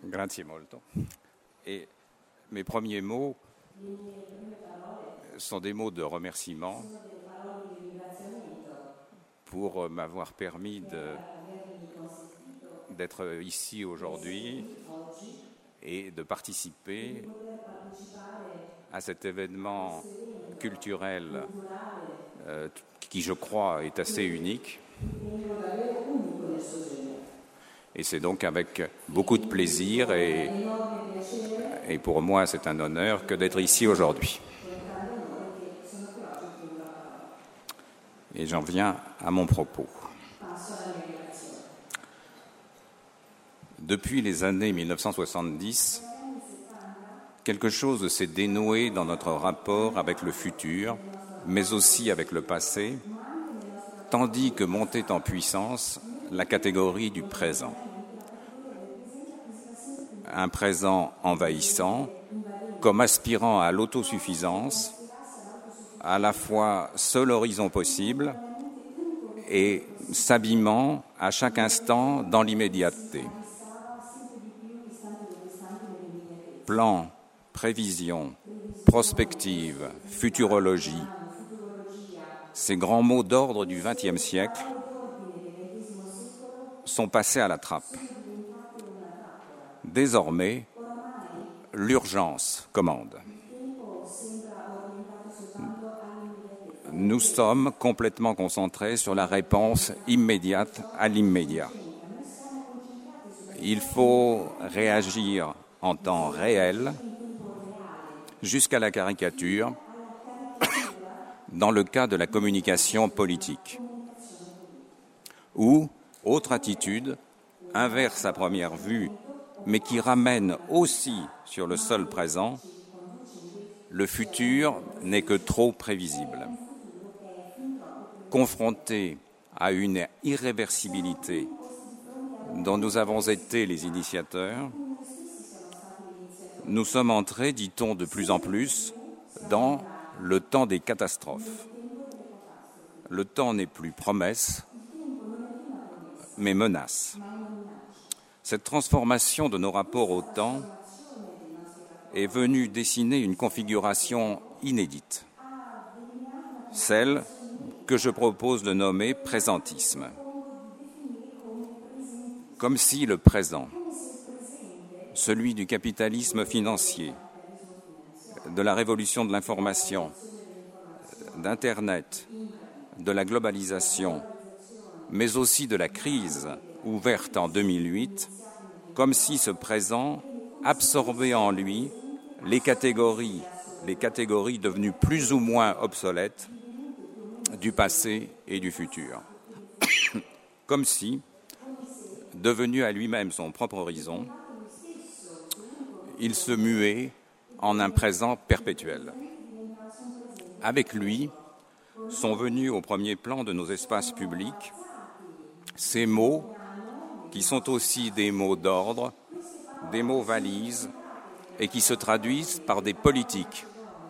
Grazie molto. Et mes premiers mots sont des mots de remerciement pour m'avoir permis d'être ici aujourd'hui et de participer à cet événement culturel qui, je crois, est assez unique. Et c'est donc avec beaucoup de plaisir et pour moi c'est un honneur que d'être ici aujourd'hui. Et j'en viens à mon propos. Depuis les années 1970, quelque chose s'est dénoué dans notre rapport avec le futur, mais aussi avec le passé, tandis que montait en puissance la catégorie du présent. Un présent envahissant, comme aspirant à l'autosuffisance, à la fois seul horizon possible et s'abîmant à chaque instant dans l'immédiateté. Plan, prévision, prospective, futurologie, ces grands mots d'ordre du XXe siècle sont passés à la trappe. Désormais, l'urgence commande. Nous sommes complètement concentrés sur la réponse immédiate à l'immédiat. Il faut réagir en temps réel, jusqu'à la caricature, dans le cas de la communication politique. Ou, autre attitude, inverse à première vue, mais qui ramène aussi sur le seul présent, le futur n'est que trop prévisible. Confronté à une irréversibilité dont nous avons été les initiateurs, nous sommes entrés, dit-on de plus en plus, dans le temps des catastrophes. Le temps n'est plus promesse, mais menace. Cette transformation de nos rapports au temps est venue dessiner une configuration inédite, celle que je propose de nommer présentisme. Comme si le présent, celui du capitalisme financier, de la révolution de l'information, d'Internet, de la globalisation, mais aussi de la crise ouverte en 2008, comme si ce présent absorbait en lui les catégories devenues plus ou moins obsolètes du passé et du futur. Comme si, devenu à lui-même son propre horizon, il se muait en un présent perpétuel. Avec lui sont venus au premier plan de nos espaces publics ces mots qui sont aussi des mots d'ordre, des mots valises et qui se traduisent par des politiques.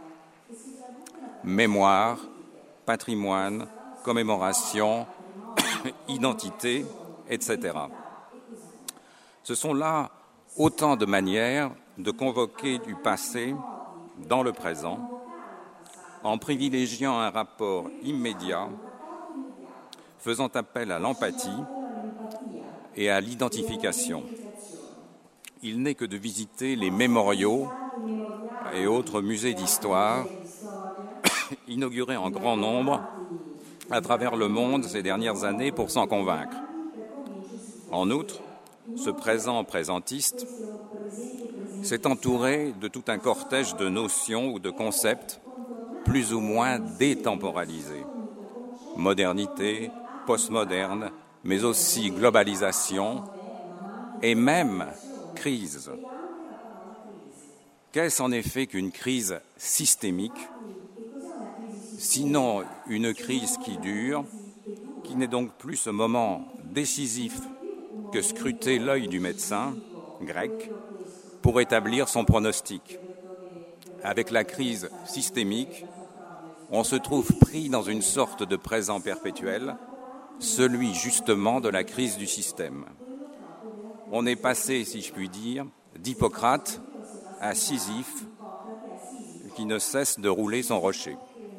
Mémoire, patrimoine, commémoration, identité, etc. Ce sont là autant de manières de convoquer du passé dans le présent en privilégiant un rapport immédiat, faisant appel à l'empathie et à l'identification. Il n'est que de visiter les mémoriaux et autres musées d'histoire inaugurés en grand nombre à travers le monde ces dernières années pour s'en convaincre. En outre, ce présent présentiste s'est entouré de tout un cortège de notions ou de concepts plus ou moins détemporalisés. Modernité, postmoderne, mais aussi globalisation et même crise. Qu'est-ce en effet qu'une crise systémique, sinon une crise qui dure, qui n'est donc plus ce moment décisif que scruter l'œil du médecin grec pour établir son pronostic. Avec la crise systémique, on se trouve pris dans une sorte de présent perpétuel, celui justement de la crise du système. On est passé, si je puis dire, d'Hippocrate à Sisyphe qui ne cesse de rouler son rocher.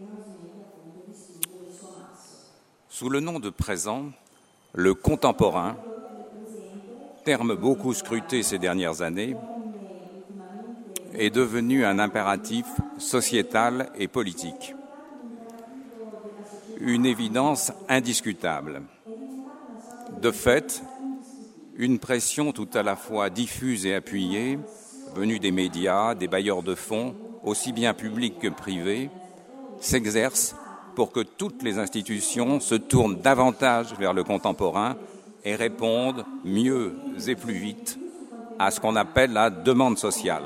Sous le nom de présent, le contemporain, terme beaucoup scruté ces dernières années, est devenu un impératif sociétal et politique. Une évidence indiscutable. De fait, une pression tout à la fois diffuse et appuyée, venue des médias, des bailleurs de fonds, aussi bien publics que privés, s'exerce pour que toutes les institutions se tournent davantage vers le contemporain et répondent mieux et plus vite à ce qu'on appelle la demande sociale.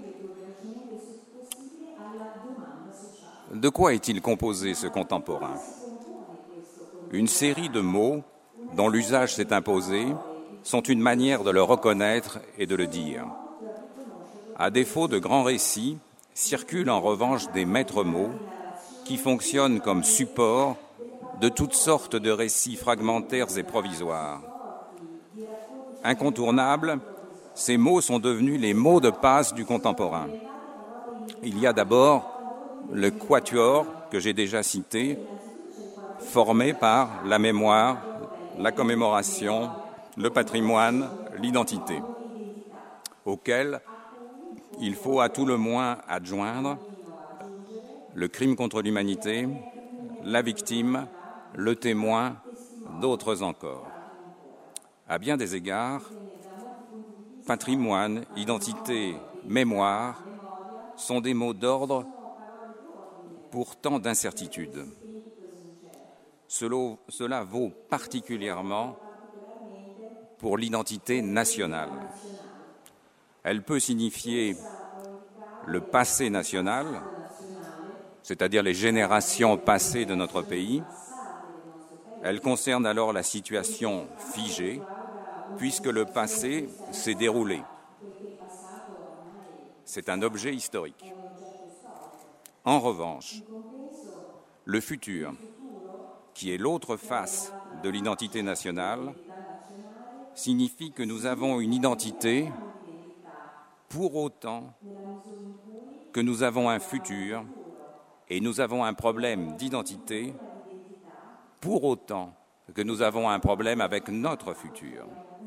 De quoi est-il composé, ce contemporain ? Une série de mots dont l'usage s'est imposé sont une manière de le reconnaître et de le dire. À défaut de grands récits, circulent en revanche des maîtres mots qui fonctionnent comme support de toutes sortes de récits fragmentaires et provisoires. Incontournables, ces mots sont devenus les mots de passe du contemporain. Il y a d'abord le quatuor que j'ai déjà cité, formé par la mémoire, la commémoration, le patrimoine, l'identité, auquel il faut à tout le moins adjoindre le crime contre l'humanité, la victime, le témoin, d'autres encore. À bien des égards, patrimoine, identité, mémoire sont des mots d'ordre pour tant d'incertitudes. Cela vaut particulièrement pour l'identité nationale. Elle peut signifier le passé national, c'est-à-dire les générations passées de notre pays. Elle concerne alors la situation figée, puisque le passé s'est déroulé. C'est un objet historique. En revanche, le futur, qui est l'autre face de l'identité nationale, signifie que nous avons une identité pour autant que nous avons un futur et nous avons un problème d'identité pour autant que nous avons un problème avec notre futur.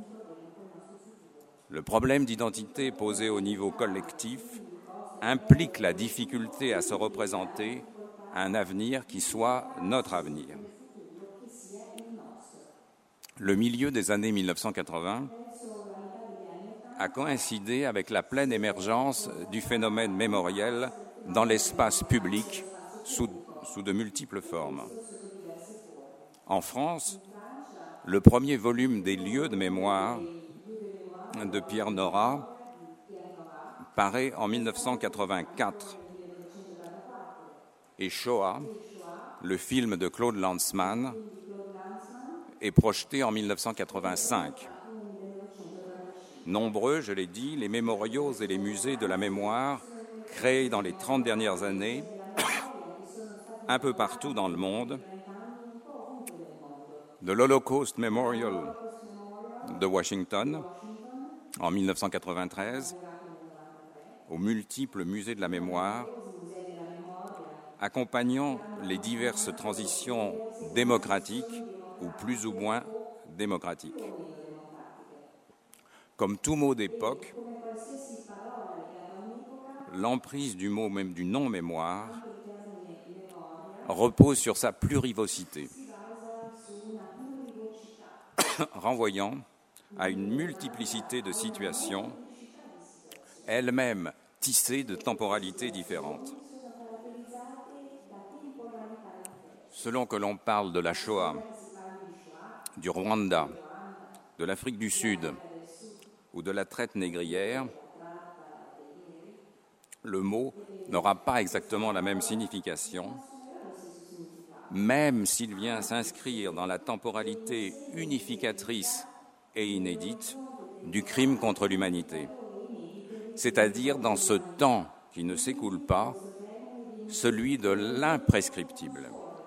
Le problème d'identité posé au niveau collectif implique la difficulté à se représenter un avenir qui soit notre avenir. Le milieu des années 1980 a coïncidé avec la pleine émergence du phénomène mémoriel dans l'espace public sous de multiples formes. En France, le premier volume des lieux de mémoire de Pierre Nora paraît en 1984 et Shoah, le film de Claude Lanzmann, est projeté en 1985. Nombreux, je l'ai dit, les mémoriaux et les musées de la mémoire créés dans les 30 dernières années, un peu partout dans le monde, de l'Holocaust Memorial de Washington en 1993, aux multiples musées de la mémoire, accompagnant les diverses transitions démocratiques ou plus ou moins démocratiques. Comme tout mot d'époque, l'emprise du mot, même du non-mémoire, repose sur sa plurivocité, renvoyant à une multiplicité de situations, elles-mêmes tissées de temporalités différentes. Selon que l'on parle de la Shoah, du Rwanda, de l'Afrique du Sud ou de la traite négrière, le mot n'aura pas exactement la même signification, même s'il vient s'inscrire dans la temporalité unificatrice et inédite du crime contre l'humanité, c'est-à-dire dans ce temps qui ne s'écoule pas, celui de l'imprescriptible.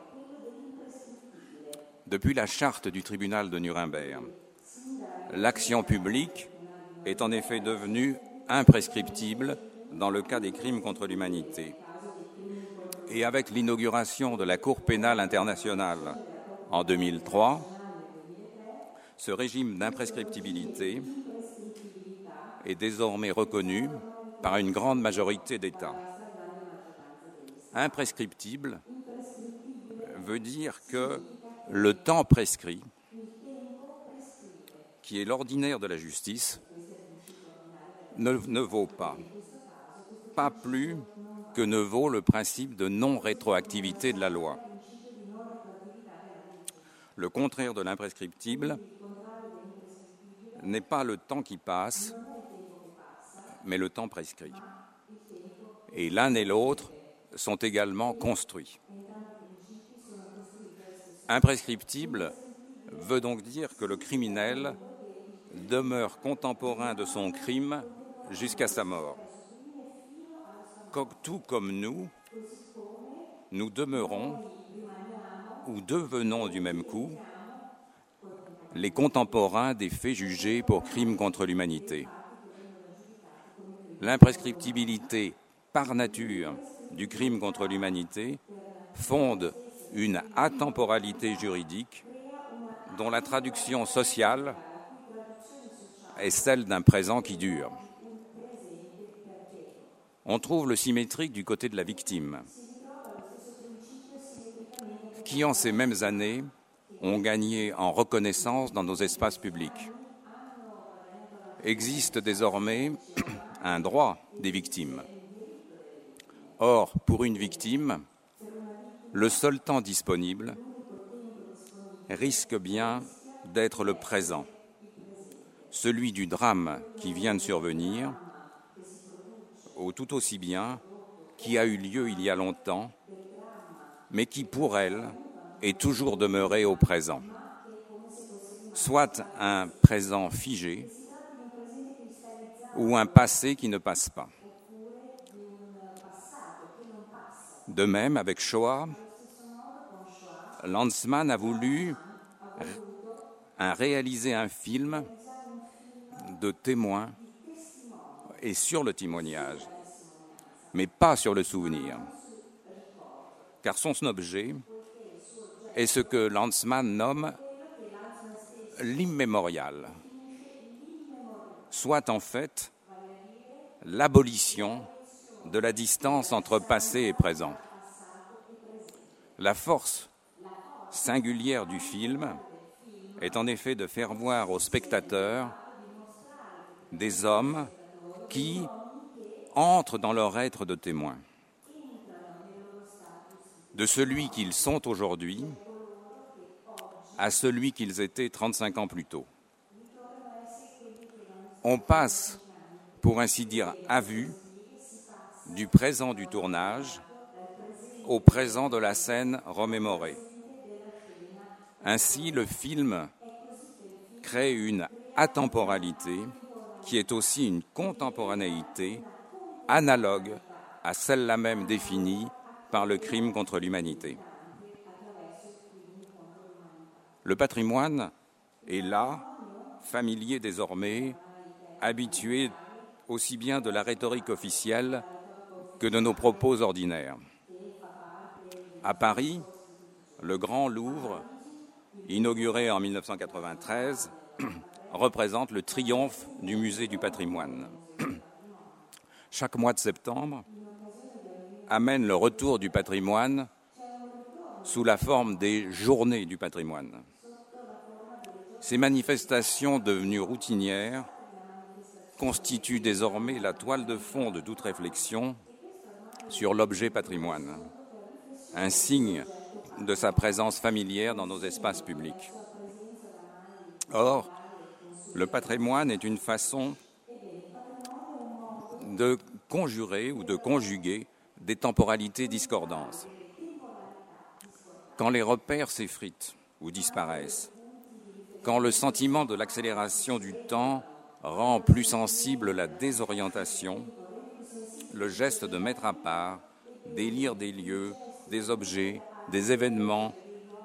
Depuis la charte du tribunal de Nuremberg, l'action publique est en effet devenue imprescriptible dans le cas des crimes contre l'humanité. Et avec l'inauguration de la Cour pénale internationale en 2003, ce régime d'imprescriptibilité est désormais reconnu par une grande majorité d'États. Imprescriptible veut dire que le temps prescrit, qui est l'ordinaire de la justice, ne vaut pas plus que ne vaut le principe de non-rétroactivité de la loi. Le contraire de l'imprescriptible n'est pas le temps qui passe, mais le temps prescrit. Et l'un et l'autre sont également construits. Imprescriptible veut donc dire que le criminel demeure contemporain de son crime jusqu'à sa mort. Tout comme nous demeurons ou devenons du même coup les contemporains des faits jugés pour crimes contre l'humanité. L'imprescriptibilité par nature du crime contre l'humanité fonde une atemporalité juridique dont la traduction sociale est celle d'un présent qui dure. On trouve le symétrique du côté de la victime, qui en ces mêmes années ont gagné en reconnaissance dans nos espaces publics. Existe désormais un droit des victimes. Or, pour une victime, le seul temps disponible risque bien d'être le présent, celui du drame qui vient de survenir, ou tout aussi bien qui a eu lieu il y a longtemps, mais qui, pour elle, est toujours demeuré au présent. Soit un présent figé, ou un passé qui ne passe pas. De même, avec Shoah, Lanzmann a voulu réaliser un film de témoins et sur le témoignage, mais pas sur le souvenir. Car son objet est ce que Lanzmann nomme l'immémorial, soit en fait l'abolition de la distance entre passé et présent. La force singulière du film est en effet de faire voir aux spectateurs des hommes qui entrent dans leur être de témoins, de celui qu'ils sont aujourd'hui à celui qu'ils étaient 35 ans plus tôt. On passe, pour ainsi dire, à vue, du présent du tournage au présent de la scène remémorée. Ainsi, le film crée une atemporalité qui est aussi une contemporanéité analogue à celle-là même définie par le crime contre l'humanité. Le patrimoine est là, familier désormais, habitué aussi bien de la rhétorique officielle que de nos propos ordinaires. À Paris, le Grand Louvre, inauguré en 1993, représente le triomphe du musée du patrimoine. Chaque mois de septembre amène le retour du patrimoine sous la forme des journées du patrimoine. Ces manifestations devenues routinières constituent désormais la toile de fond de toute réflexion sur l'objet patrimoine, un signe de sa présence familière dans nos espaces publics. Or, le patrimoine est une façon de conjurer ou de conjuguer des temporalités discordantes. Quand les repères s'effritent ou disparaissent, quand le sentiment de l'accélération du temps rend plus sensible la désorientation, le geste de mettre à part, d'élire des lieux, des objets, des événements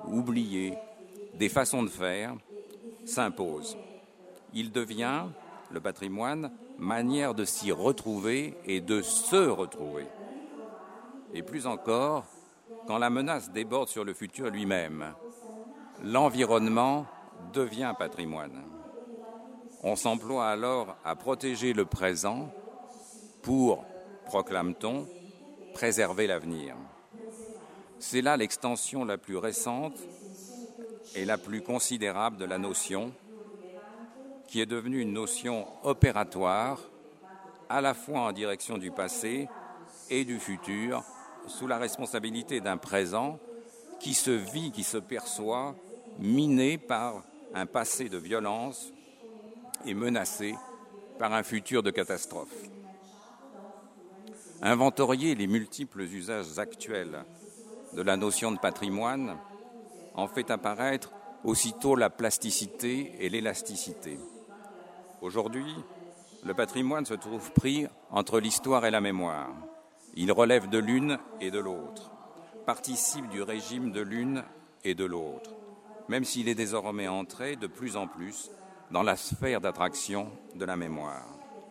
oubliés, des façons de faire, s'impose. Il devient le patrimoine, manière de s'y retrouver et de se retrouver. Et plus encore, quand la menace déborde sur le futur lui-même, l'environnement devient patrimoine. On s'emploie alors à protéger le présent pour, proclame-t-on, préserver l'avenir. C'est là l'extension la plus récente et la plus considérable de la notion, qui est devenue une notion opératoire, à la fois en direction du passé et du futur, sous la responsabilité d'un présent qui se vit, qui se perçoit, miné par un passé de violence et menacé par un futur de catastrophe. Inventorier les multiples usages actuels de la notion de patrimoine en fait apparaître aussitôt la plasticité et l'élasticité. Aujourd'hui, le patrimoine se trouve pris entre l'histoire et la mémoire. Il relève de l'une et de l'autre, participe du régime de l'une et de l'autre, même s'il est désormais entré de plus en plus dans la sphère d'attraction de la mémoire.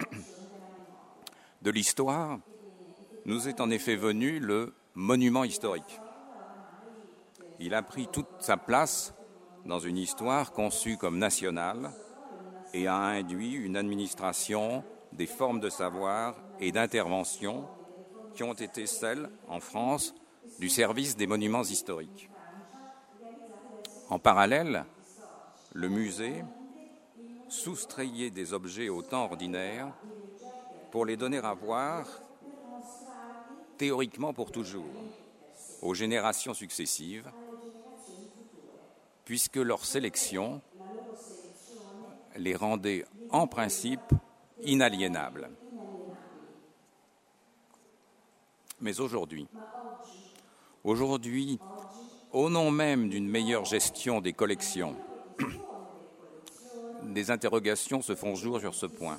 De l'histoire, nous est en effet venu le monument historique. Il a pris toute sa place dans une histoire conçue comme nationale et a induit une administration des formes de savoir et d'intervention qui ont été celles, en France, du service des monuments historiques. En parallèle, le musée soustrayait des objets au temps ordinaire pour les donner à voir, théoriquement pour toujours, aux générations successives, puisque leur sélection les rendait en principe inaliénables. Mais aujourd'hui, au nom même d'une meilleure gestion des collections, des interrogations se font jour sur ce point.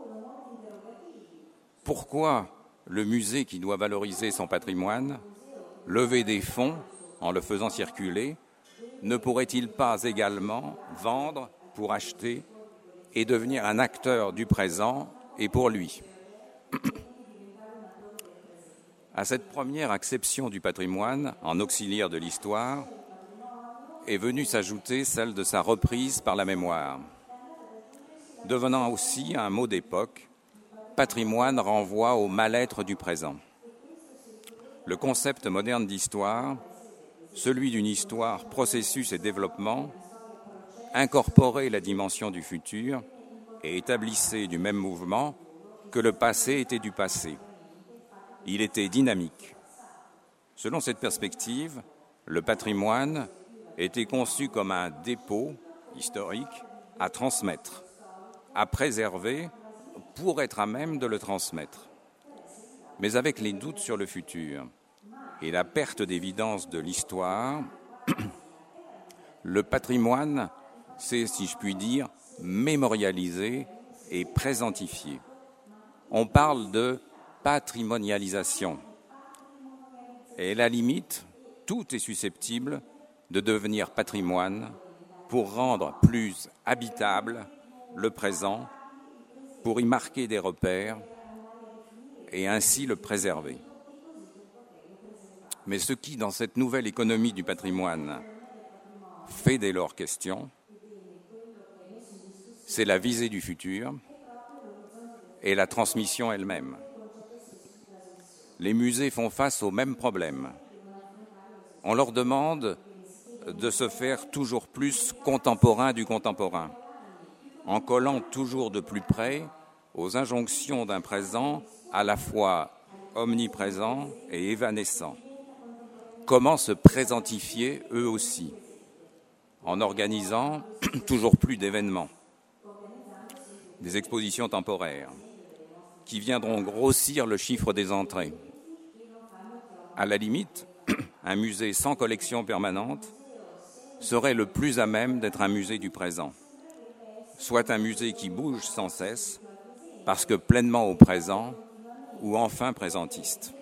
Pourquoi le musée qui doit valoriser son patrimoine, lever des fonds en le faisant circuler, ne pourrait-il pas également vendre pour acheter et devenir un acteur du présent et pour lui ? À cette première acception du patrimoine en auxiliaire de l'histoire est venue s'ajouter celle de sa reprise par la mémoire. Devenant aussi un mot d'époque, patrimoine renvoie au mal-être du présent. Le concept moderne d'histoire, celui d'une histoire, processus et développement, incorporait la dimension du futur et établissait du même mouvement que le passé était du passé. Il était dynamique. Selon cette perspective, le patrimoine était conçu comme un dépôt historique à transmettre, à préserver pour être à même de le transmettre. Mais avec les doutes sur le futur et la perte d'évidence de l'histoire, le patrimoine s'est, si je puis dire, mémorialisé et présentifié. On parle de patrimonialisation. Et à la limite, tout est susceptible de devenir patrimoine pour rendre plus habitable le présent, pour y marquer des repères et ainsi le préserver. Mais ce qui, dans cette nouvelle économie du patrimoine, fait dès lors question, c'est la visée du futur et la transmission elle-même. Les musées font face aux mêmes problèmes. On leur demande de se faire toujours plus contemporain du contemporain, en collant toujours de plus près aux injonctions d'un présent à la fois omniprésent et évanescent. Comment se présentifier eux aussi, en organisant toujours plus d'événements, des expositions temporaires, qui viendront grossir le chiffre des entrées. À la limite, un musée sans collection permanente serait le plus à même d'être un musée du présent, soit un musée qui bouge sans cesse, parce que pleinement au présent ou enfin présentiste.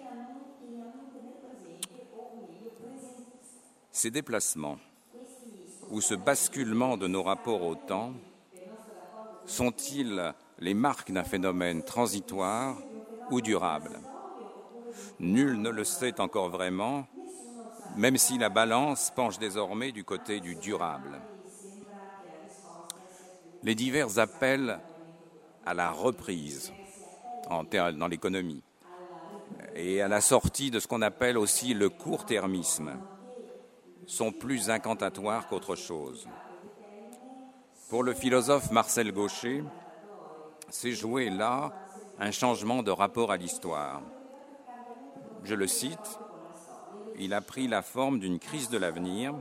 Ces déplacements ou ce basculement de nos rapports au temps sont-ils les marques d'un phénomène transitoire ou durable. Nul ne le sait encore vraiment, même si la balance penche désormais du côté du durable. Les divers appels à la reprise dans l'économie et à la sortie de ce qu'on appelle aussi le court-termisme sont plus incantatoires qu'autre chose. Pour le philosophe Marcel Gauchet, s'est joué là un changement de rapport à l'histoire. Je le cite, « Il a pris la forme d'une crise de l'avenir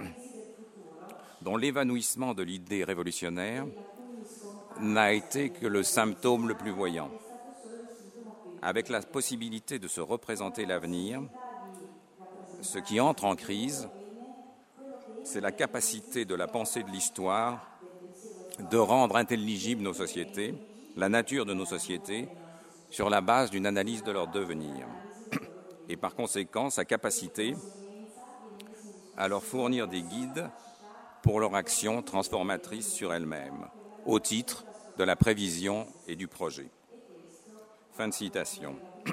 dont l'évanouissement de l'idée révolutionnaire n'a été que le symptôme le plus voyant. Avec la possibilité de se représenter l'avenir, ce qui entre en crise, c'est la capacité de la pensée de l'histoire de rendre intelligibles nos sociétés, la nature de nos sociétés, sur la base d'une analyse de leur devenir, et par conséquent sa capacité à leur fournir des guides pour leur action transformatrice sur elle-même, au titre de la prévision et du projet. » Fin de citation.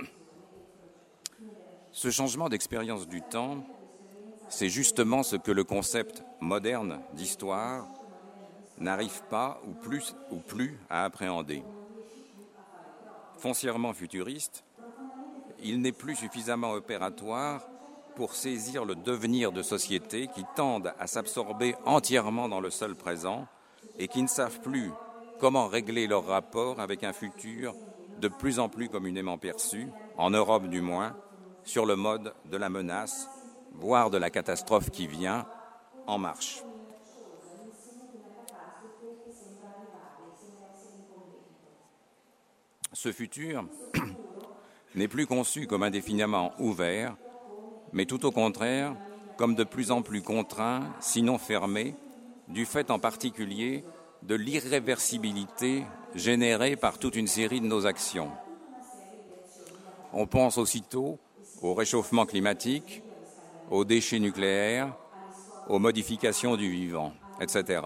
Ce changement d'expérience du temps, c'est justement ce que le concept moderne d'histoire n'arrive pas ou plus à appréhender. Foncièrement futuriste, il n'est plus suffisamment opératoire pour saisir le devenir de sociétés qui tendent à s'absorber entièrement dans le seul présent et qui ne savent plus comment régler leur rapport avec un futur de plus en plus communément perçu, en Europe du moins, sur le mode de la menace, voire de la catastrophe qui vient, en marche. Ce futur n'est plus conçu comme indéfiniment ouvert, mais tout au contraire, comme de plus en plus contraint, sinon fermé, du fait en particulier de l'irréversibilité générée par toute une série de nos actions. On pense aussitôt au réchauffement climatique, aux déchets nucléaires, aux modifications du vivant, etc.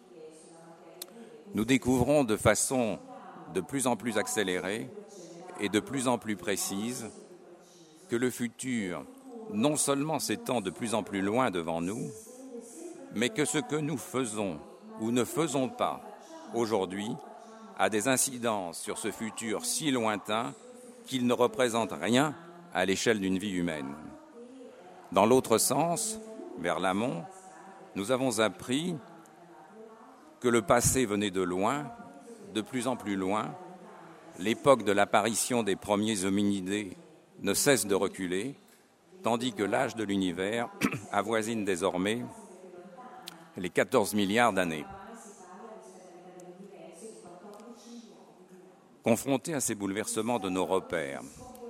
Nous découvrons de façon de plus en plus accélérée et de plus en plus précise que le futur non seulement s'étend de plus en plus loin devant nous, mais que ce que nous faisons ou ne faisons pas aujourd'hui a des incidences sur ce futur si lointain qu'il ne représente rien à l'échelle d'une vie humaine. Dans l'autre sens, vers l'amont, nous avons appris que le passé venait de loin, de plus en plus loin. L'époque de l'apparition des premiers hominidés ne cesse de reculer, tandis que l'âge de l'univers avoisine désormais les 14 milliards d'années. Confrontés à ces bouleversements de nos repères,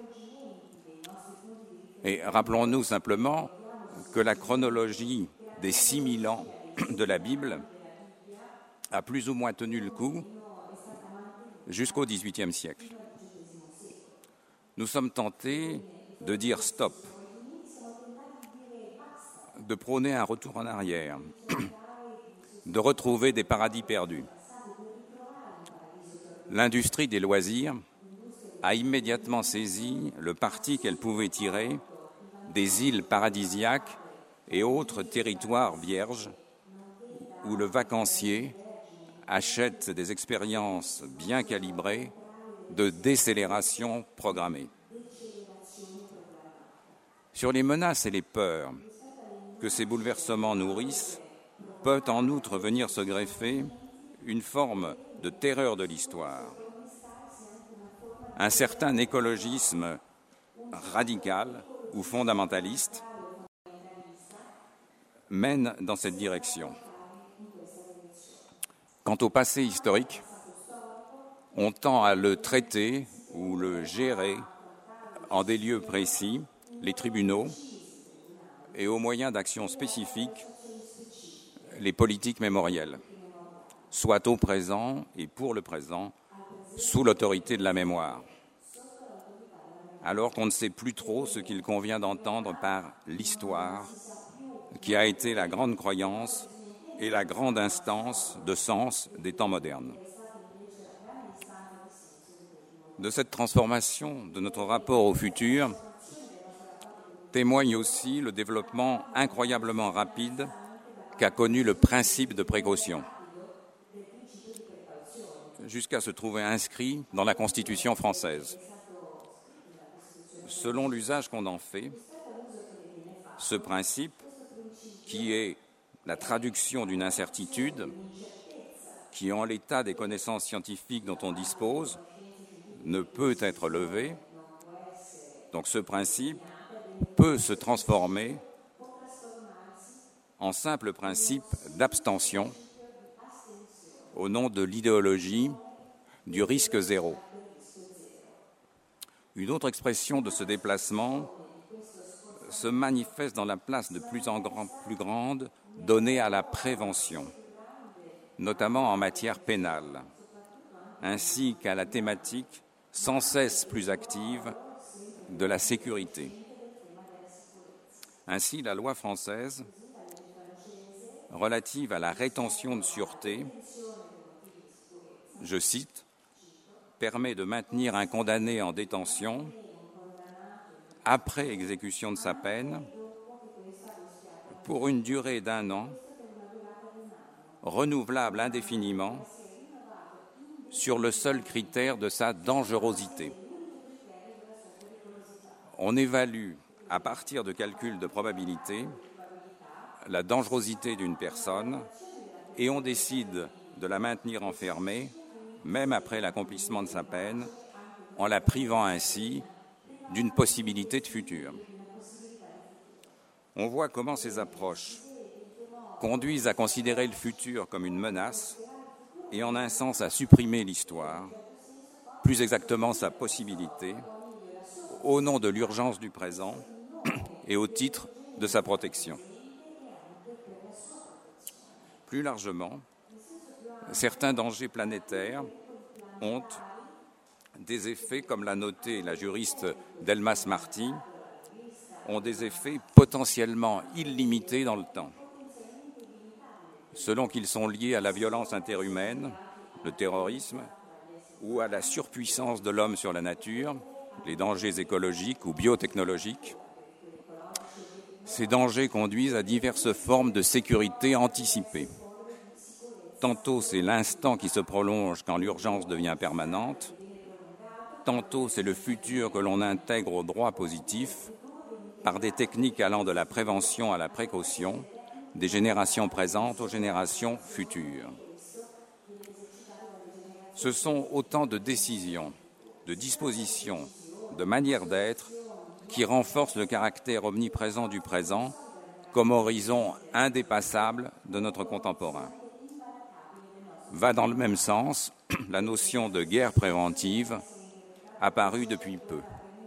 et rappelons-nous simplement que la chronologie des 6000 ans de la Bible a plus ou moins tenu le coup jusqu'au XVIIIe siècle. Nous sommes tentés de dire stop, de prôner un retour en arrière, de retrouver des paradis perdus. L'industrie des loisirs a immédiatement saisi le parti qu'elle pouvait tirer des îles paradisiaques et autres territoires vierges où le vacancier achète des expériences bien calibrées de décélération programmée. Sur les menaces et les peurs que ces bouleversements nourrissent, peut en outre venir se greffer une forme de terreur de l'histoire. Un certain écologisme radical ou fondamentaliste mène dans cette direction. Quant au passé historique, on tend à le traiter ou le gérer en des lieux précis, les tribunaux, et aux moyens d'action spécifiques, les politiques mémorielles, soit au présent et pour le présent, sous l'autorité de la mémoire. Alors qu'on ne sait plus trop ce qu'il convient d'entendre par l'histoire, qui a été la grande croyance et la grande instance de sens des temps modernes. De cette transformation de notre rapport au futur témoigne aussi le développement incroyablement rapide qu'a connu le principe de précaution, jusqu'à se trouver inscrit dans la Constitution française. Selon l'usage qu'on en fait, ce principe, qui est la traduction d'une incertitude, qui en l'état des connaissances scientifiques dont on dispose, ne peut être levé. Donc ce principe peut se transformer en simple principe d'abstention au nom de l'idéologie du risque zéro. Une autre expression de ce déplacement se manifeste dans la place de plus en plus grande donnée à la prévention, notamment en matière pénale, ainsi qu'à la thématique sans cesse plus active de la sécurité. Ainsi, la loi française relative à la rétention de sûreté, je cite, permet de maintenir un condamné en détention après exécution de sa peine pour une durée d'1 an, renouvelable indéfiniment, sur le seul critère de sa dangerosité. On évalue, à partir de calculs de probabilité, la dangerosité d'une personne et on décide de la maintenir enfermée, même après l'accomplissement de sa peine, en la privant ainsi d'une possibilité de futur. On voit comment ces approches conduisent à considérer le futur comme une menace et en un sens à supprimer l'histoire, plus exactement sa possibilité, au nom de l'urgence du présent et au titre de sa protection. Plus largement, certains dangers planétaires ont des effets, comme l'a noté la juriste Delmas Marty, ont des effets potentiellement illimités dans le temps. Selon qu'ils sont liés à la violence interhumaine, le terrorisme, ou à la surpuissance de l'homme sur la nature, les dangers écologiques ou biotechnologiques, ces dangers conduisent à diverses formes de sécurité anticipée. Tantôt c'est l'instant qui se prolonge quand l'urgence devient permanente, tantôt c'est le futur que l'on intègre au droit positif par des techniques allant de la prévention à la précaution, des générations présentes aux générations futures. Ce sont autant de décisions, de dispositions, de manières d'être qui renforcent le caractère omniprésent du présent comme horizon indépassable de notre contemporain. Va dans le même sens la notion de guerre préventive apparue depuis peu.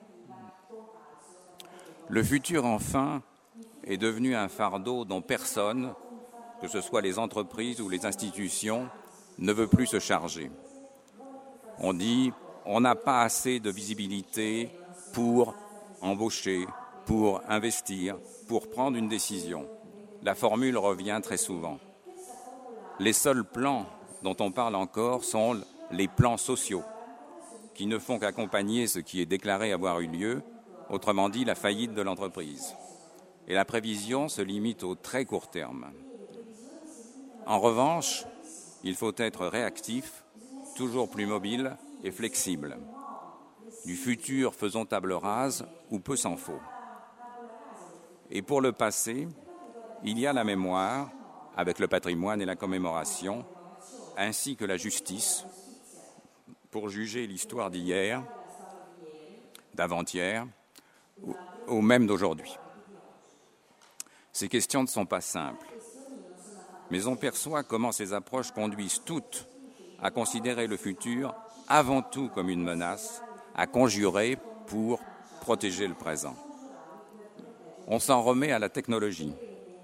Le futur, enfin, est devenu un fardeau dont personne, que ce soit les entreprises ou les institutions, ne veut plus se charger. On dit on n'a pas assez de visibilité pour embaucher, pour investir, pour prendre une décision. La formule revient très souvent. Les seuls plans dont on parle encore sont les plans sociaux, qui ne font qu'accompagner ce qui est déclaré avoir eu lieu, autrement dit la faillite de l'entreprise. Et la prévision se limite au très court terme. En revanche, il faut être réactif, toujours plus mobile et flexible. Du futur, faisons table rase ou peu s'en faut. Et pour le passé, il y a la mémoire, avec le patrimoine et la commémoration, ainsi que la justice, pour juger l'histoire d'hier, d'avant-hier, ou même d'aujourd'hui. Ces questions ne sont pas simples, mais on perçoit comment ces approches conduisent toutes à considérer le futur avant tout comme une menace, à conjurer pour protéger le présent. On s'en remet à la technologie.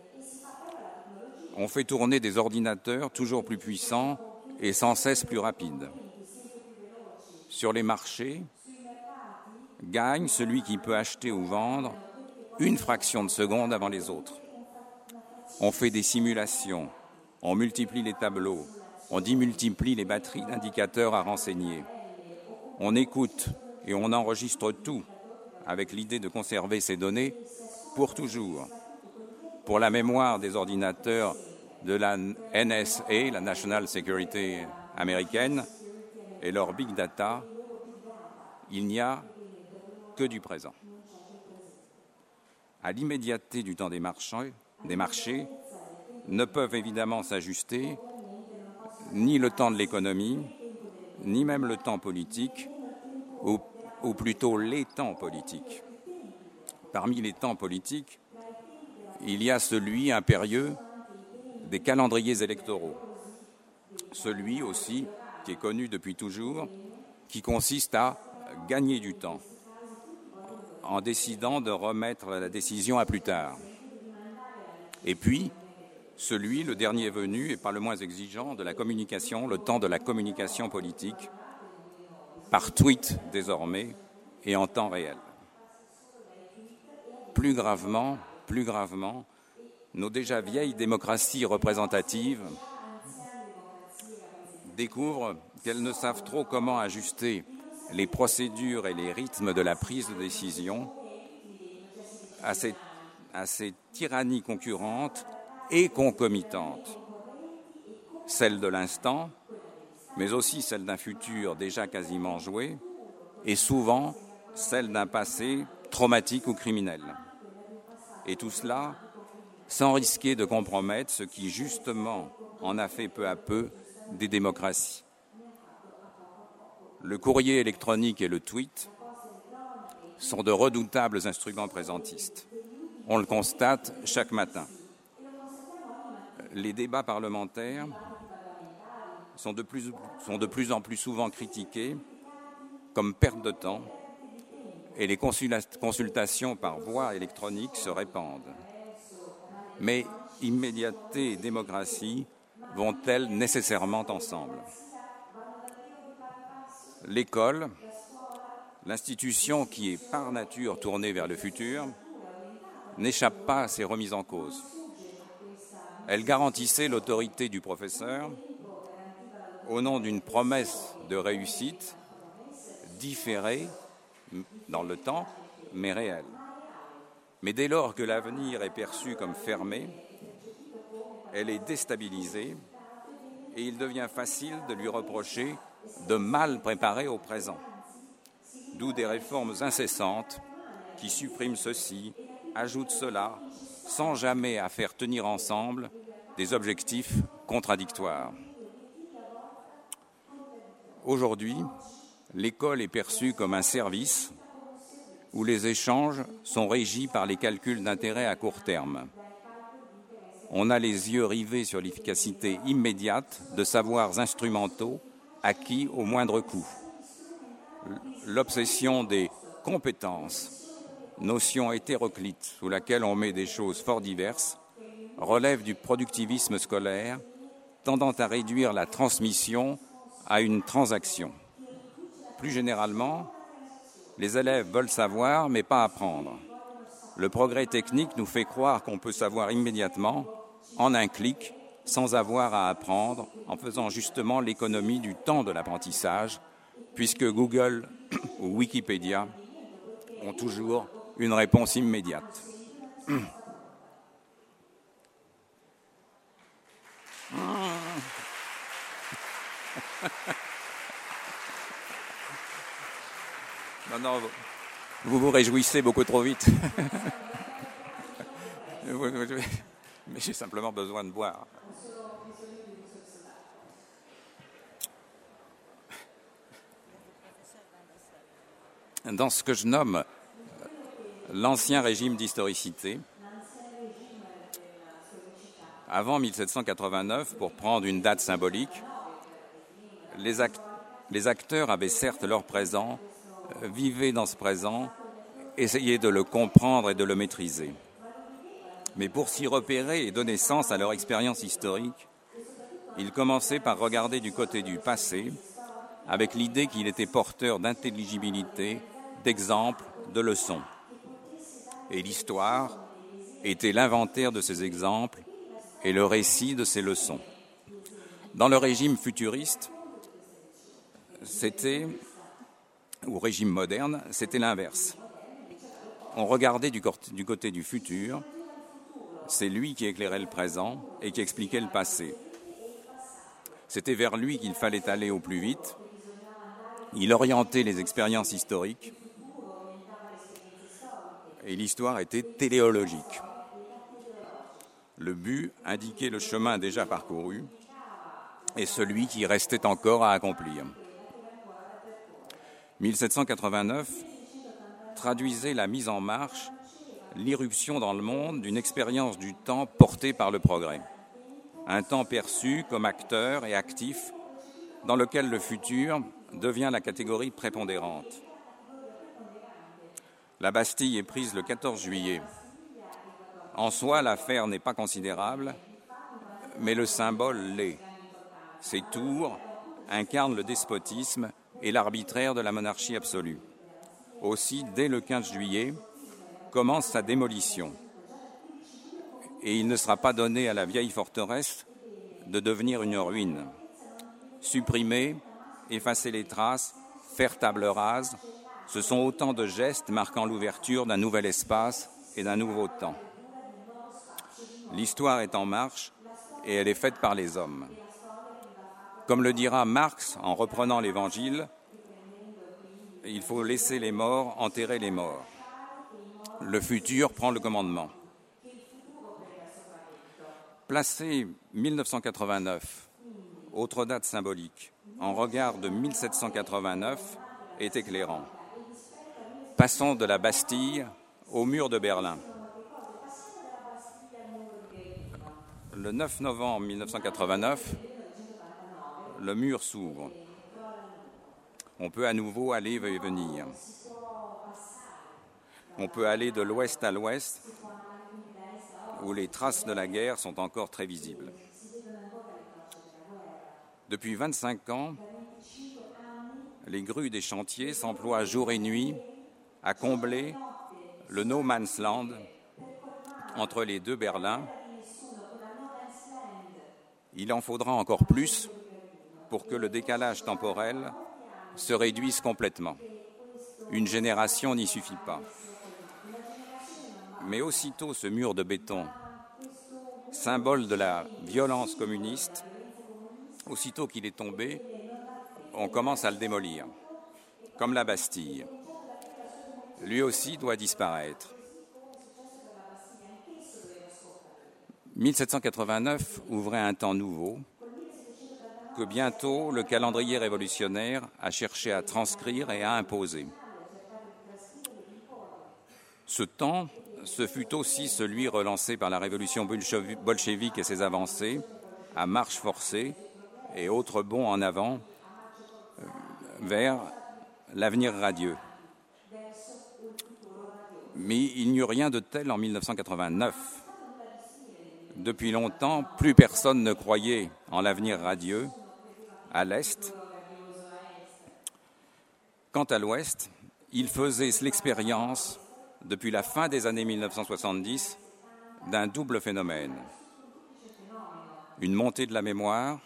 On fait tourner des ordinateurs toujours plus puissants et sans cesse plus rapides. Sur les marchés, gagne celui qui peut acheter ou vendre une fraction de seconde avant les autres. On fait des simulations, on multiplie les tableaux, on démultiplie les batteries d'indicateurs à renseigner. On écoute et on enregistre tout avec l'idée de conserver ces données pour toujours. Pour la mémoire des ordinateurs de la NSA, la National Security américaine, et leur big data, il n'y a que du présent. À l'immédiateté du temps des marchés ne peuvent évidemment s'ajuster ni le temps de l'économie, ni même le temps politique, ou plutôt les temps politiques. Parmi les temps politiques, il y a celui impérieux des calendriers électoraux, celui aussi qui est connu depuis toujours, qui consiste à gagner du temps en décidant de remettre la décision à plus tard. Et puis, celui, le dernier venu, et pas le moins exigeant, de la communication, le temps de la communication politique, par tweet désormais et en temps réel. Plus gravement, nos déjà vieilles démocraties représentatives découvrent qu'elles ne savent trop comment ajuster les procédures et les rythmes de la prise de décision à ces tyrannies concurrentes et concomitantes, celle de l'instant, mais aussi celle d'un futur déjà quasiment joué, et souvent celle d'un passé traumatique ou criminel. Et tout cela sans risquer de compromettre ce qui, justement, en a fait peu à peu des démocraties. Le courrier électronique et le tweet sont de redoutables instruments présentistes. On le constate chaque matin. Les débats parlementaires sont de plus en plus souvent critiqués comme perte de temps et les consultations par voie électronique se répandent. Mais immédiateté et démocratie vont-elles nécessairement ensemble ? L'école, l'institution qui est par nature tournée vers le futur, n'échappe pas à ces remises en cause. Elle garantissait l'autorité du professeur au nom d'une promesse de réussite différée dans le temps, mais réelle. Mais dès lors que l'avenir est perçu comme fermé, elle est déstabilisée et il devient facile de lui reprocher de mal préparer au présent. D'où des réformes incessantes qui suppriment ceci, ajoutent cela, sans jamais à faire tenir ensemble des objectifs contradictoires. Aujourd'hui, l'école est perçue comme un service où les échanges sont régis par les calculs d'intérêt à court terme. On a les yeux rivés sur l'efficacité immédiate de savoirs instrumentaux acquis au moindre coût. L'obsession des compétences, notion hétéroclite sous laquelle on met des choses fort diverses, relève du productivisme scolaire tendant à réduire la transmission à une transaction. Plus généralement, les élèves veulent savoir mais pas apprendre. Le progrès technique nous fait croire qu'on peut savoir immédiatement, en un clic, sans avoir à apprendre, en faisant justement l'économie du temps de l'apprentissage, puisque Google ou Wikipédia ont toujours une réponse immédiate. Non, vous vous réjouissez beaucoup trop vite. Mais j'ai simplement besoin de boire. Dans ce que je nomme l'ancien régime d'historicité, avant 1789, pour prendre une date symbolique, les acteurs avaient certes leur présent, vivaient dans ce présent, essayaient de le comprendre et de le maîtriser. Mais pour s'y repérer et donner sens à leur expérience historique, ils commençaient par regarder du côté du passé, avec l'idée qu'il était porteur d'intelligibilité, d'exemples, de leçons. Et l'histoire était l'inventaire de ces exemples et le récit de ces leçons. Dans le régime futuriste, c'était ou régime moderne, c'était l'inverse. On regardait du côté du futur, c'est lui qui éclairait le présent et qui expliquait le passé. C'était vers lui qu'il fallait aller au plus vite. Il orientait les expériences historiques et l'histoire était téléologique. Le but indiquait le chemin déjà parcouru et celui qui restait encore à accomplir. 1789 traduisait la mise en marche, l'irruption dans le monde d'une expérience du temps portée par le progrès. Un temps perçu comme acteur et actif dans lequel le futur devient la catégorie prépondérante. La Bastille est prise le 14 juillet. En soi, l'affaire n'est pas considérable, mais le symbole l'est. Ces tours incarnent le despotisme et l'arbitraire de la monarchie absolue. Aussi, dès le 15 juillet, commence sa démolition. Et il ne sera pas donné à la vieille forteresse de devenir une ruine. Supprimer, effacer les traces, faire table rase, ce sont autant de gestes marquant l'ouverture d'un nouvel espace et d'un nouveau temps. L'histoire est en marche et elle est faite par les hommes. Comme le dira Marx en reprenant l'Évangile, il faut laisser les morts enterrer les morts. Le futur prend le commandement. Placer 1989, autre date symbolique, en regard de 1789 est éclairant. Passons de la Bastille au mur de Berlin. Le 9 novembre 1989, le mur s'ouvre. On peut à nouveau aller et venir. On peut aller de l'ouest à l'ouest, où les traces de la guerre sont encore très visibles. Depuis 25 ans, les grues des chantiers s'emploient jour et nuit à combler le no man's land entre les deux Berlins. Il en faudra encore plus pour que le décalage temporel se réduise complètement. Une génération n'y suffit pas. Mais aussitôt ce mur de béton, symbole de la violence communiste, aussitôt qu'il est tombé, on commence à le démolir, comme la Bastille. Lui aussi doit disparaître. 1789 ouvrait un temps nouveau que bientôt le calendrier révolutionnaire a cherché à transcrire et à imposer. Ce temps, ce fut aussi celui relancé par la révolution bolchevique et ses avancées, à marche forcée et autres bonds en avant vers l'avenir radieux. Mais il n'y eut rien de tel en 1989. Depuis longtemps, plus personne ne croyait en l'avenir radieux à l'Est. Quant à l'Ouest, il faisait l'expérience, depuis la fin des années 1970, d'un double phénomène. Une montée de la mémoire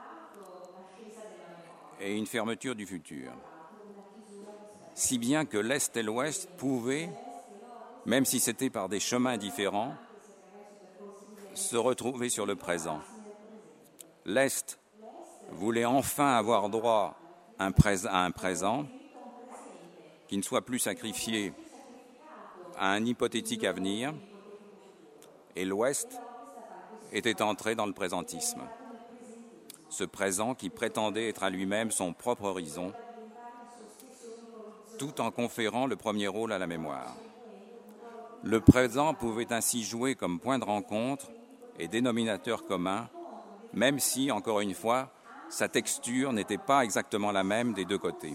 et une fermeture du futur. Si bien que l'Est et l'Ouest pouvaient, même si c'était par des chemins différents, se retrouver sur le présent. L'Est voulait enfin avoir droit à un présent qui ne soit plus sacrifié à un hypothétique avenir, et l'Ouest était entré dans le présentisme. Ce présent qui prétendait être à lui-même son propre horizon, tout en conférant le premier rôle à la mémoire. Le présent pouvait ainsi jouer comme point de rencontre et dénominateur commun, même si, encore une fois, sa texture n'était pas exactement la même des deux côtés.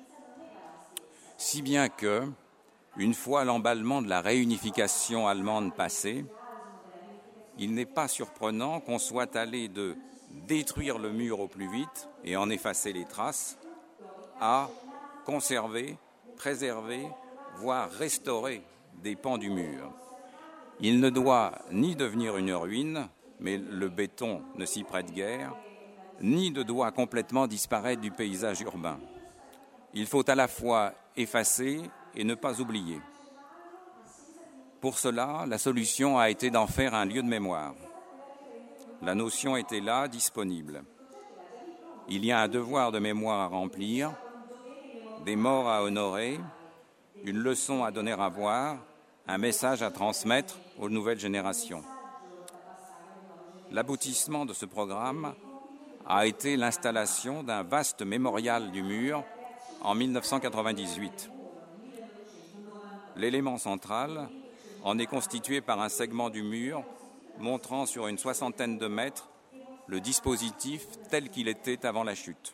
Si bien que, une fois l'emballement de la réunification allemande passé, il n'est pas surprenant qu'on soit allé de détruire le mur au plus vite et en effacer les traces, à conserver, préserver, voire restaurer des pans du mur. Il ne doit ni devenir une ruine, mais le béton ne s'y prête guère, ni ne doit complètement disparaître du paysage urbain. Il faut à la fois effacer et ne pas oublier. Pour cela, la solution a été d'en faire un lieu de mémoire. La notion était là, disponible. Il y a un devoir de mémoire à remplir, des morts à honorer, une leçon à donner à voir, un message à transmettre aux nouvelles générations. L'aboutissement de ce programme a été l'installation d'un vaste mémorial du mur en 1998. L'élément central en est constitué par un segment du mur montrant sur une 60aine de mètres le dispositif tel qu'il était avant la chute.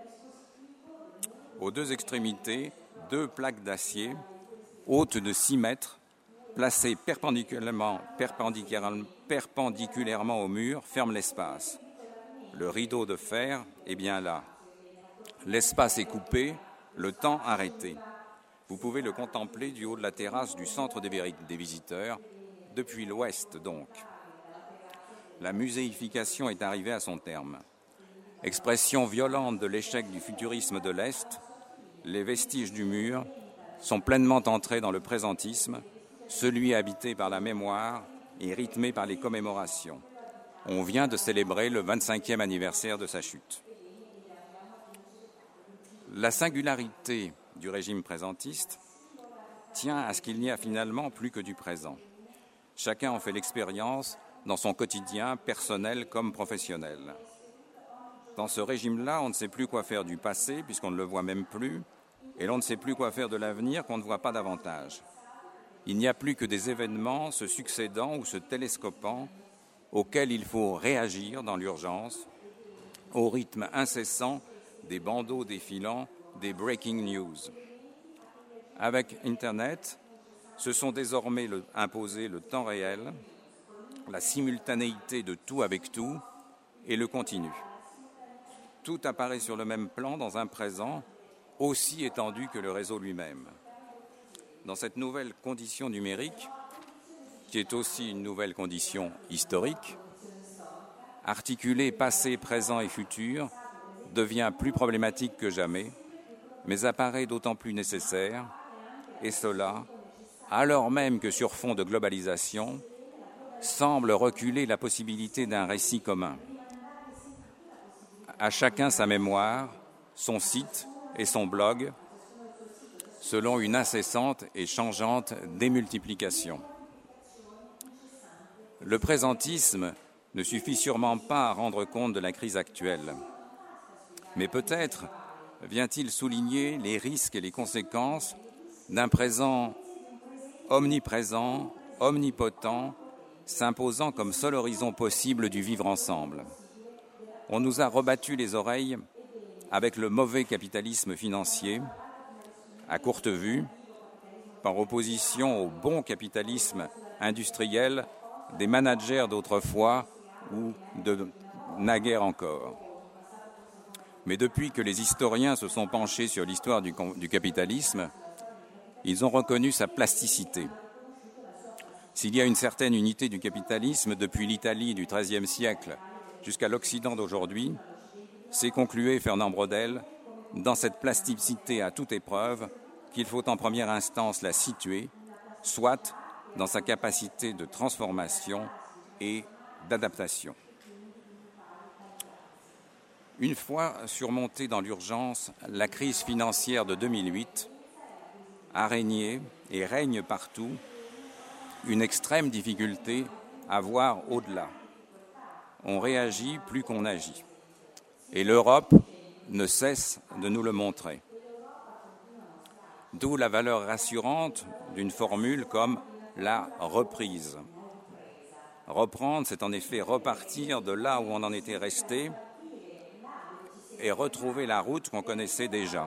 Aux deux extrémités, 2 plaques d'acier hautes de 6 mètres, placées perpendiculairement au mur, ferment l'espace. Le rideau de fer est bien là. L'espace est coupé, le temps arrêté. Vous pouvez le contempler du haut de la terrasse du centre des visiteurs, depuis l'ouest donc. La muséification est arrivée à son terme. Expression violente de l'échec du futurisme de l'Est, les vestiges du mur sont pleinement entrés dans le présentisme, celui habité par la mémoire et rythmé par les commémorations. On vient de célébrer le 25e anniversaire de sa chute. La singularité du régime présentiste tient à ce qu'il n'y a finalement plus que du présent. Chacun en fait l'expérience dans son quotidien, personnel comme professionnel. Dans ce régime-là, on ne sait plus quoi faire du passé, puisqu'on ne le voit même plus, et l'on ne sait plus quoi faire de l'avenir, qu'on ne voit pas davantage. Il n'y a plus que des événements se succédant ou se télescopant, auxquels il faut réagir dans l'urgence, au rythme incessant des bandeaux défilants, des breaking news. Avec Internet, se sont désormais imposés le temps réel, la simultanéité de tout avec tout et le continu. Tout apparaît sur le même plan dans un présent aussi étendu que le réseau lui-même. Dans cette nouvelle condition numérique, qui est aussi une nouvelle condition historique, articuler passé, présent et futur devient plus problématique que jamais, mais apparaît d'autant plus nécessaire, et cela, alors même que sur fond de globalisation, semble reculer la possibilité d'un récit commun. À chacun sa mémoire, son site et son blog, selon une incessante et changeante démultiplication. Le présentisme ne suffit sûrement pas à rendre compte de la crise actuelle, mais peut-être vient-il souligner les risques et les conséquences d'un présent omniprésent, omnipotent, s'imposant comme seul horizon possible du vivre ensemble. On nous a rebattu les oreilles avec le mauvais capitalisme financier, à courte vue, par opposition au bon capitalisme industriel des managers d'autrefois ou de naguère encore. Mais depuis que les historiens se sont penchés sur l'histoire du capitalisme, ils ont reconnu sa plasticité. S'il y a une certaine unité du capitalisme depuis l'Italie du XIIIe siècle jusqu'à l'Occident d'aujourd'hui, c'est concluait Fernand Braudel dans cette plasticité à toute épreuve qu'il faut en première instance la situer, soit dans sa capacité de transformation et d'adaptation. Une fois surmontée dans l'urgence, la crise financière de 2008 a régné et règne partout une extrême difficulté à voir au-delà. On réagit plus qu'on agit. Et l'Europe ne cesse de nous le montrer. D'où la valeur rassurante d'une formule comme la reprise. Reprendre, c'est en effet repartir de là où on en était resté et retrouver la route qu'on connaissait déjà.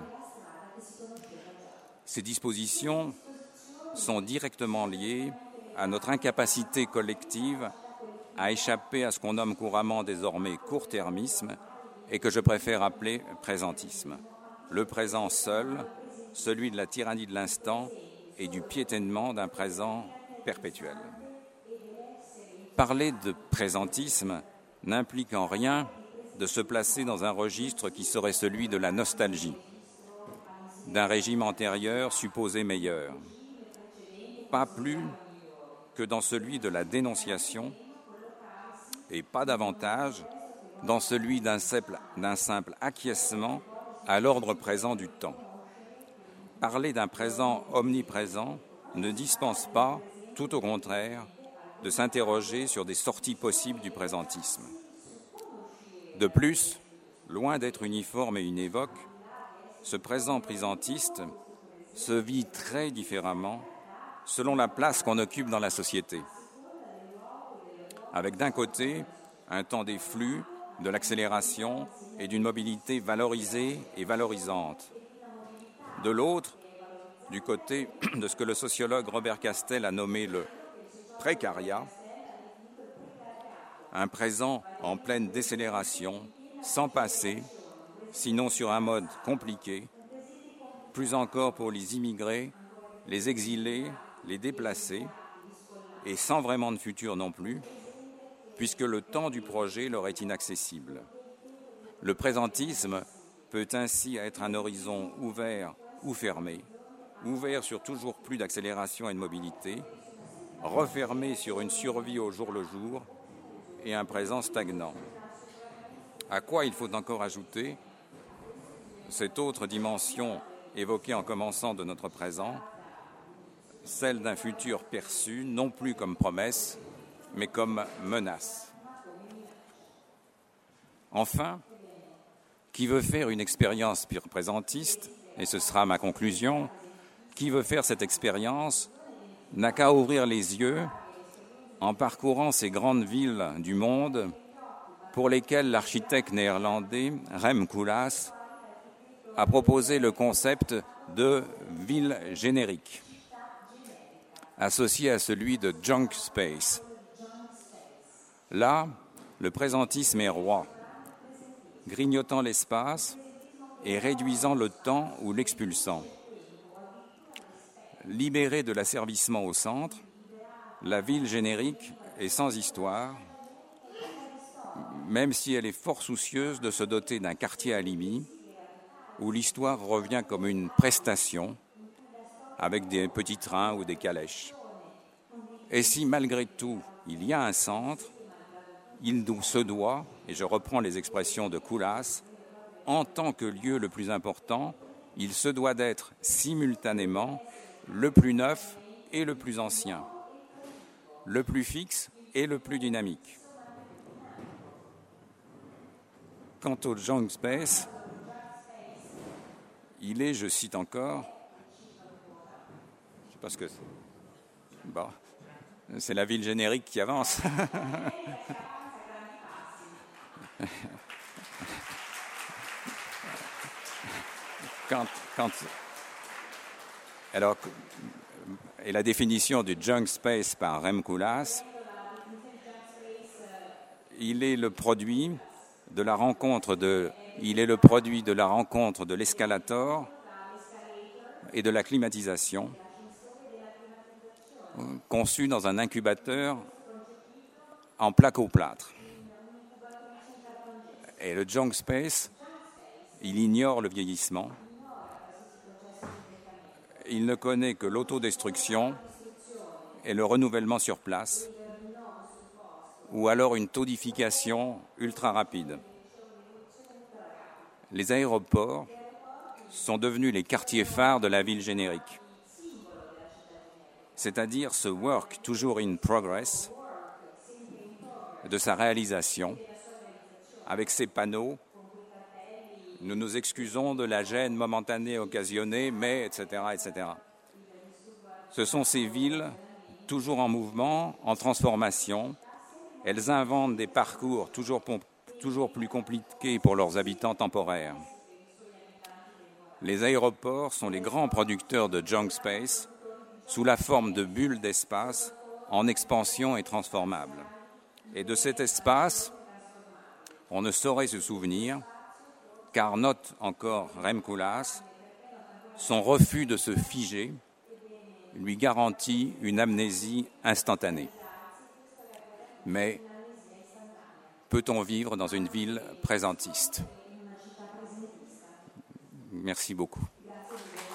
Ces dispositions sont directement liées à notre incapacité collective à échapper à ce qu'on nomme couramment désormais court-termisme et que je préfère appeler présentisme. Le présent seul, celui de la tyrannie de l'instant et du piétinement d'un présent perpétuel. Parler de présentisme n'implique en rien de se placer dans un registre qui serait celui de la nostalgie. d'un régime antérieur supposé meilleur. Pas plus que dans celui de la dénonciation, et pas davantage dans celui d'un simple acquiescement à l'ordre présent du temps. Parler d'un présent omniprésent ne dispense pas, tout au contraire, de s'interroger sur des sorties possibles du présentisme. De plus, loin d'être uniforme et univoque, ce présent présentiste se vit très différemment selon la place qu'on occupe dans la société. Avec d'un côté un temps des flux, de l'accélération et d'une mobilité valorisée et valorisante. De l'autre, du côté de ce que le sociologue Robert Castel a nommé le précariat, un présent en pleine décélération, sans passé, sinon sur un mode compliqué, plus encore pour les immigrés, les exilés, les déplacés, et sans vraiment de futur non plus, puisque le temps du projet leur est inaccessible. Le présentisme peut ainsi être un horizon ouvert ou fermé, ouvert sur toujours plus d'accélération et de mobilité, refermé sur une survie au jour le jour et un présent stagnant. À quoi il faut encore ajouter cette autre dimension évoquée en commençant de notre présent, celle d'un futur perçu non plus comme promesse, mais comme menace. Enfin, qui veut faire une expérience présentiste, et ce sera ma conclusion, qui veut faire cette expérience n'a qu'à ouvrir les yeux en parcourant ces grandes villes du monde pour lesquelles l'architecte néerlandais Rem Koolhaas a proposé le concept de ville générique, associé à celui de junk space. Là, le présentisme est roi, grignotant l'espace et réduisant le temps ou l'expulsant. Libérée de l'asservissement au centre, la ville générique est sans histoire, même si elle est fort soucieuse de se doter d'un quartier alibi, où l'histoire revient comme une prestation, avec des petits trains ou des calèches. Et si malgré tout, il y a un centre, il se doit, et je reprends les expressions de Koolhaas, en tant que lieu le plus important, il se doit d'être simultanément le plus neuf et le plus ancien, le plus fixe et le plus dynamique. Quant au junk space, il est, je cite encore, je sais pas ce que c'est. Bon, c'est la ville générique qui avance. Alors, et la définition du junk space par Rem Koolhaas, il est le produit de la rencontre de l'escalator et de la climatisation, conçu dans un incubateur en plaque-au-plâtre. Et le junk space, il ignore le vieillissement. Il ne connaît que l'autodestruction et le renouvellement sur place, ou alors une todification ultra rapide. Les aéroports sont devenus les quartiers phares de la ville générique, c'est-à-dire ce work toujours in progress de sa réalisation, avec ses panneaux. Nous nous excusons de la gêne momentanée occasionnée, mais, etc., etc. Ce sont ces villes, toujours en mouvement, en transformation. Elles inventent des parcours toujours plus compliqués pour leurs habitants temporaires. Les aéroports sont les grands producteurs de junk space, sous la forme de bulles d'espace en expansion et transformables. Et de cet espace, on ne saurait se souvenir, car note encore Rem Koolhaas, son refus de se figer lui garantit une amnésie instantanée. Mais peut-on vivre dans une ville présentiste ? Merci beaucoup.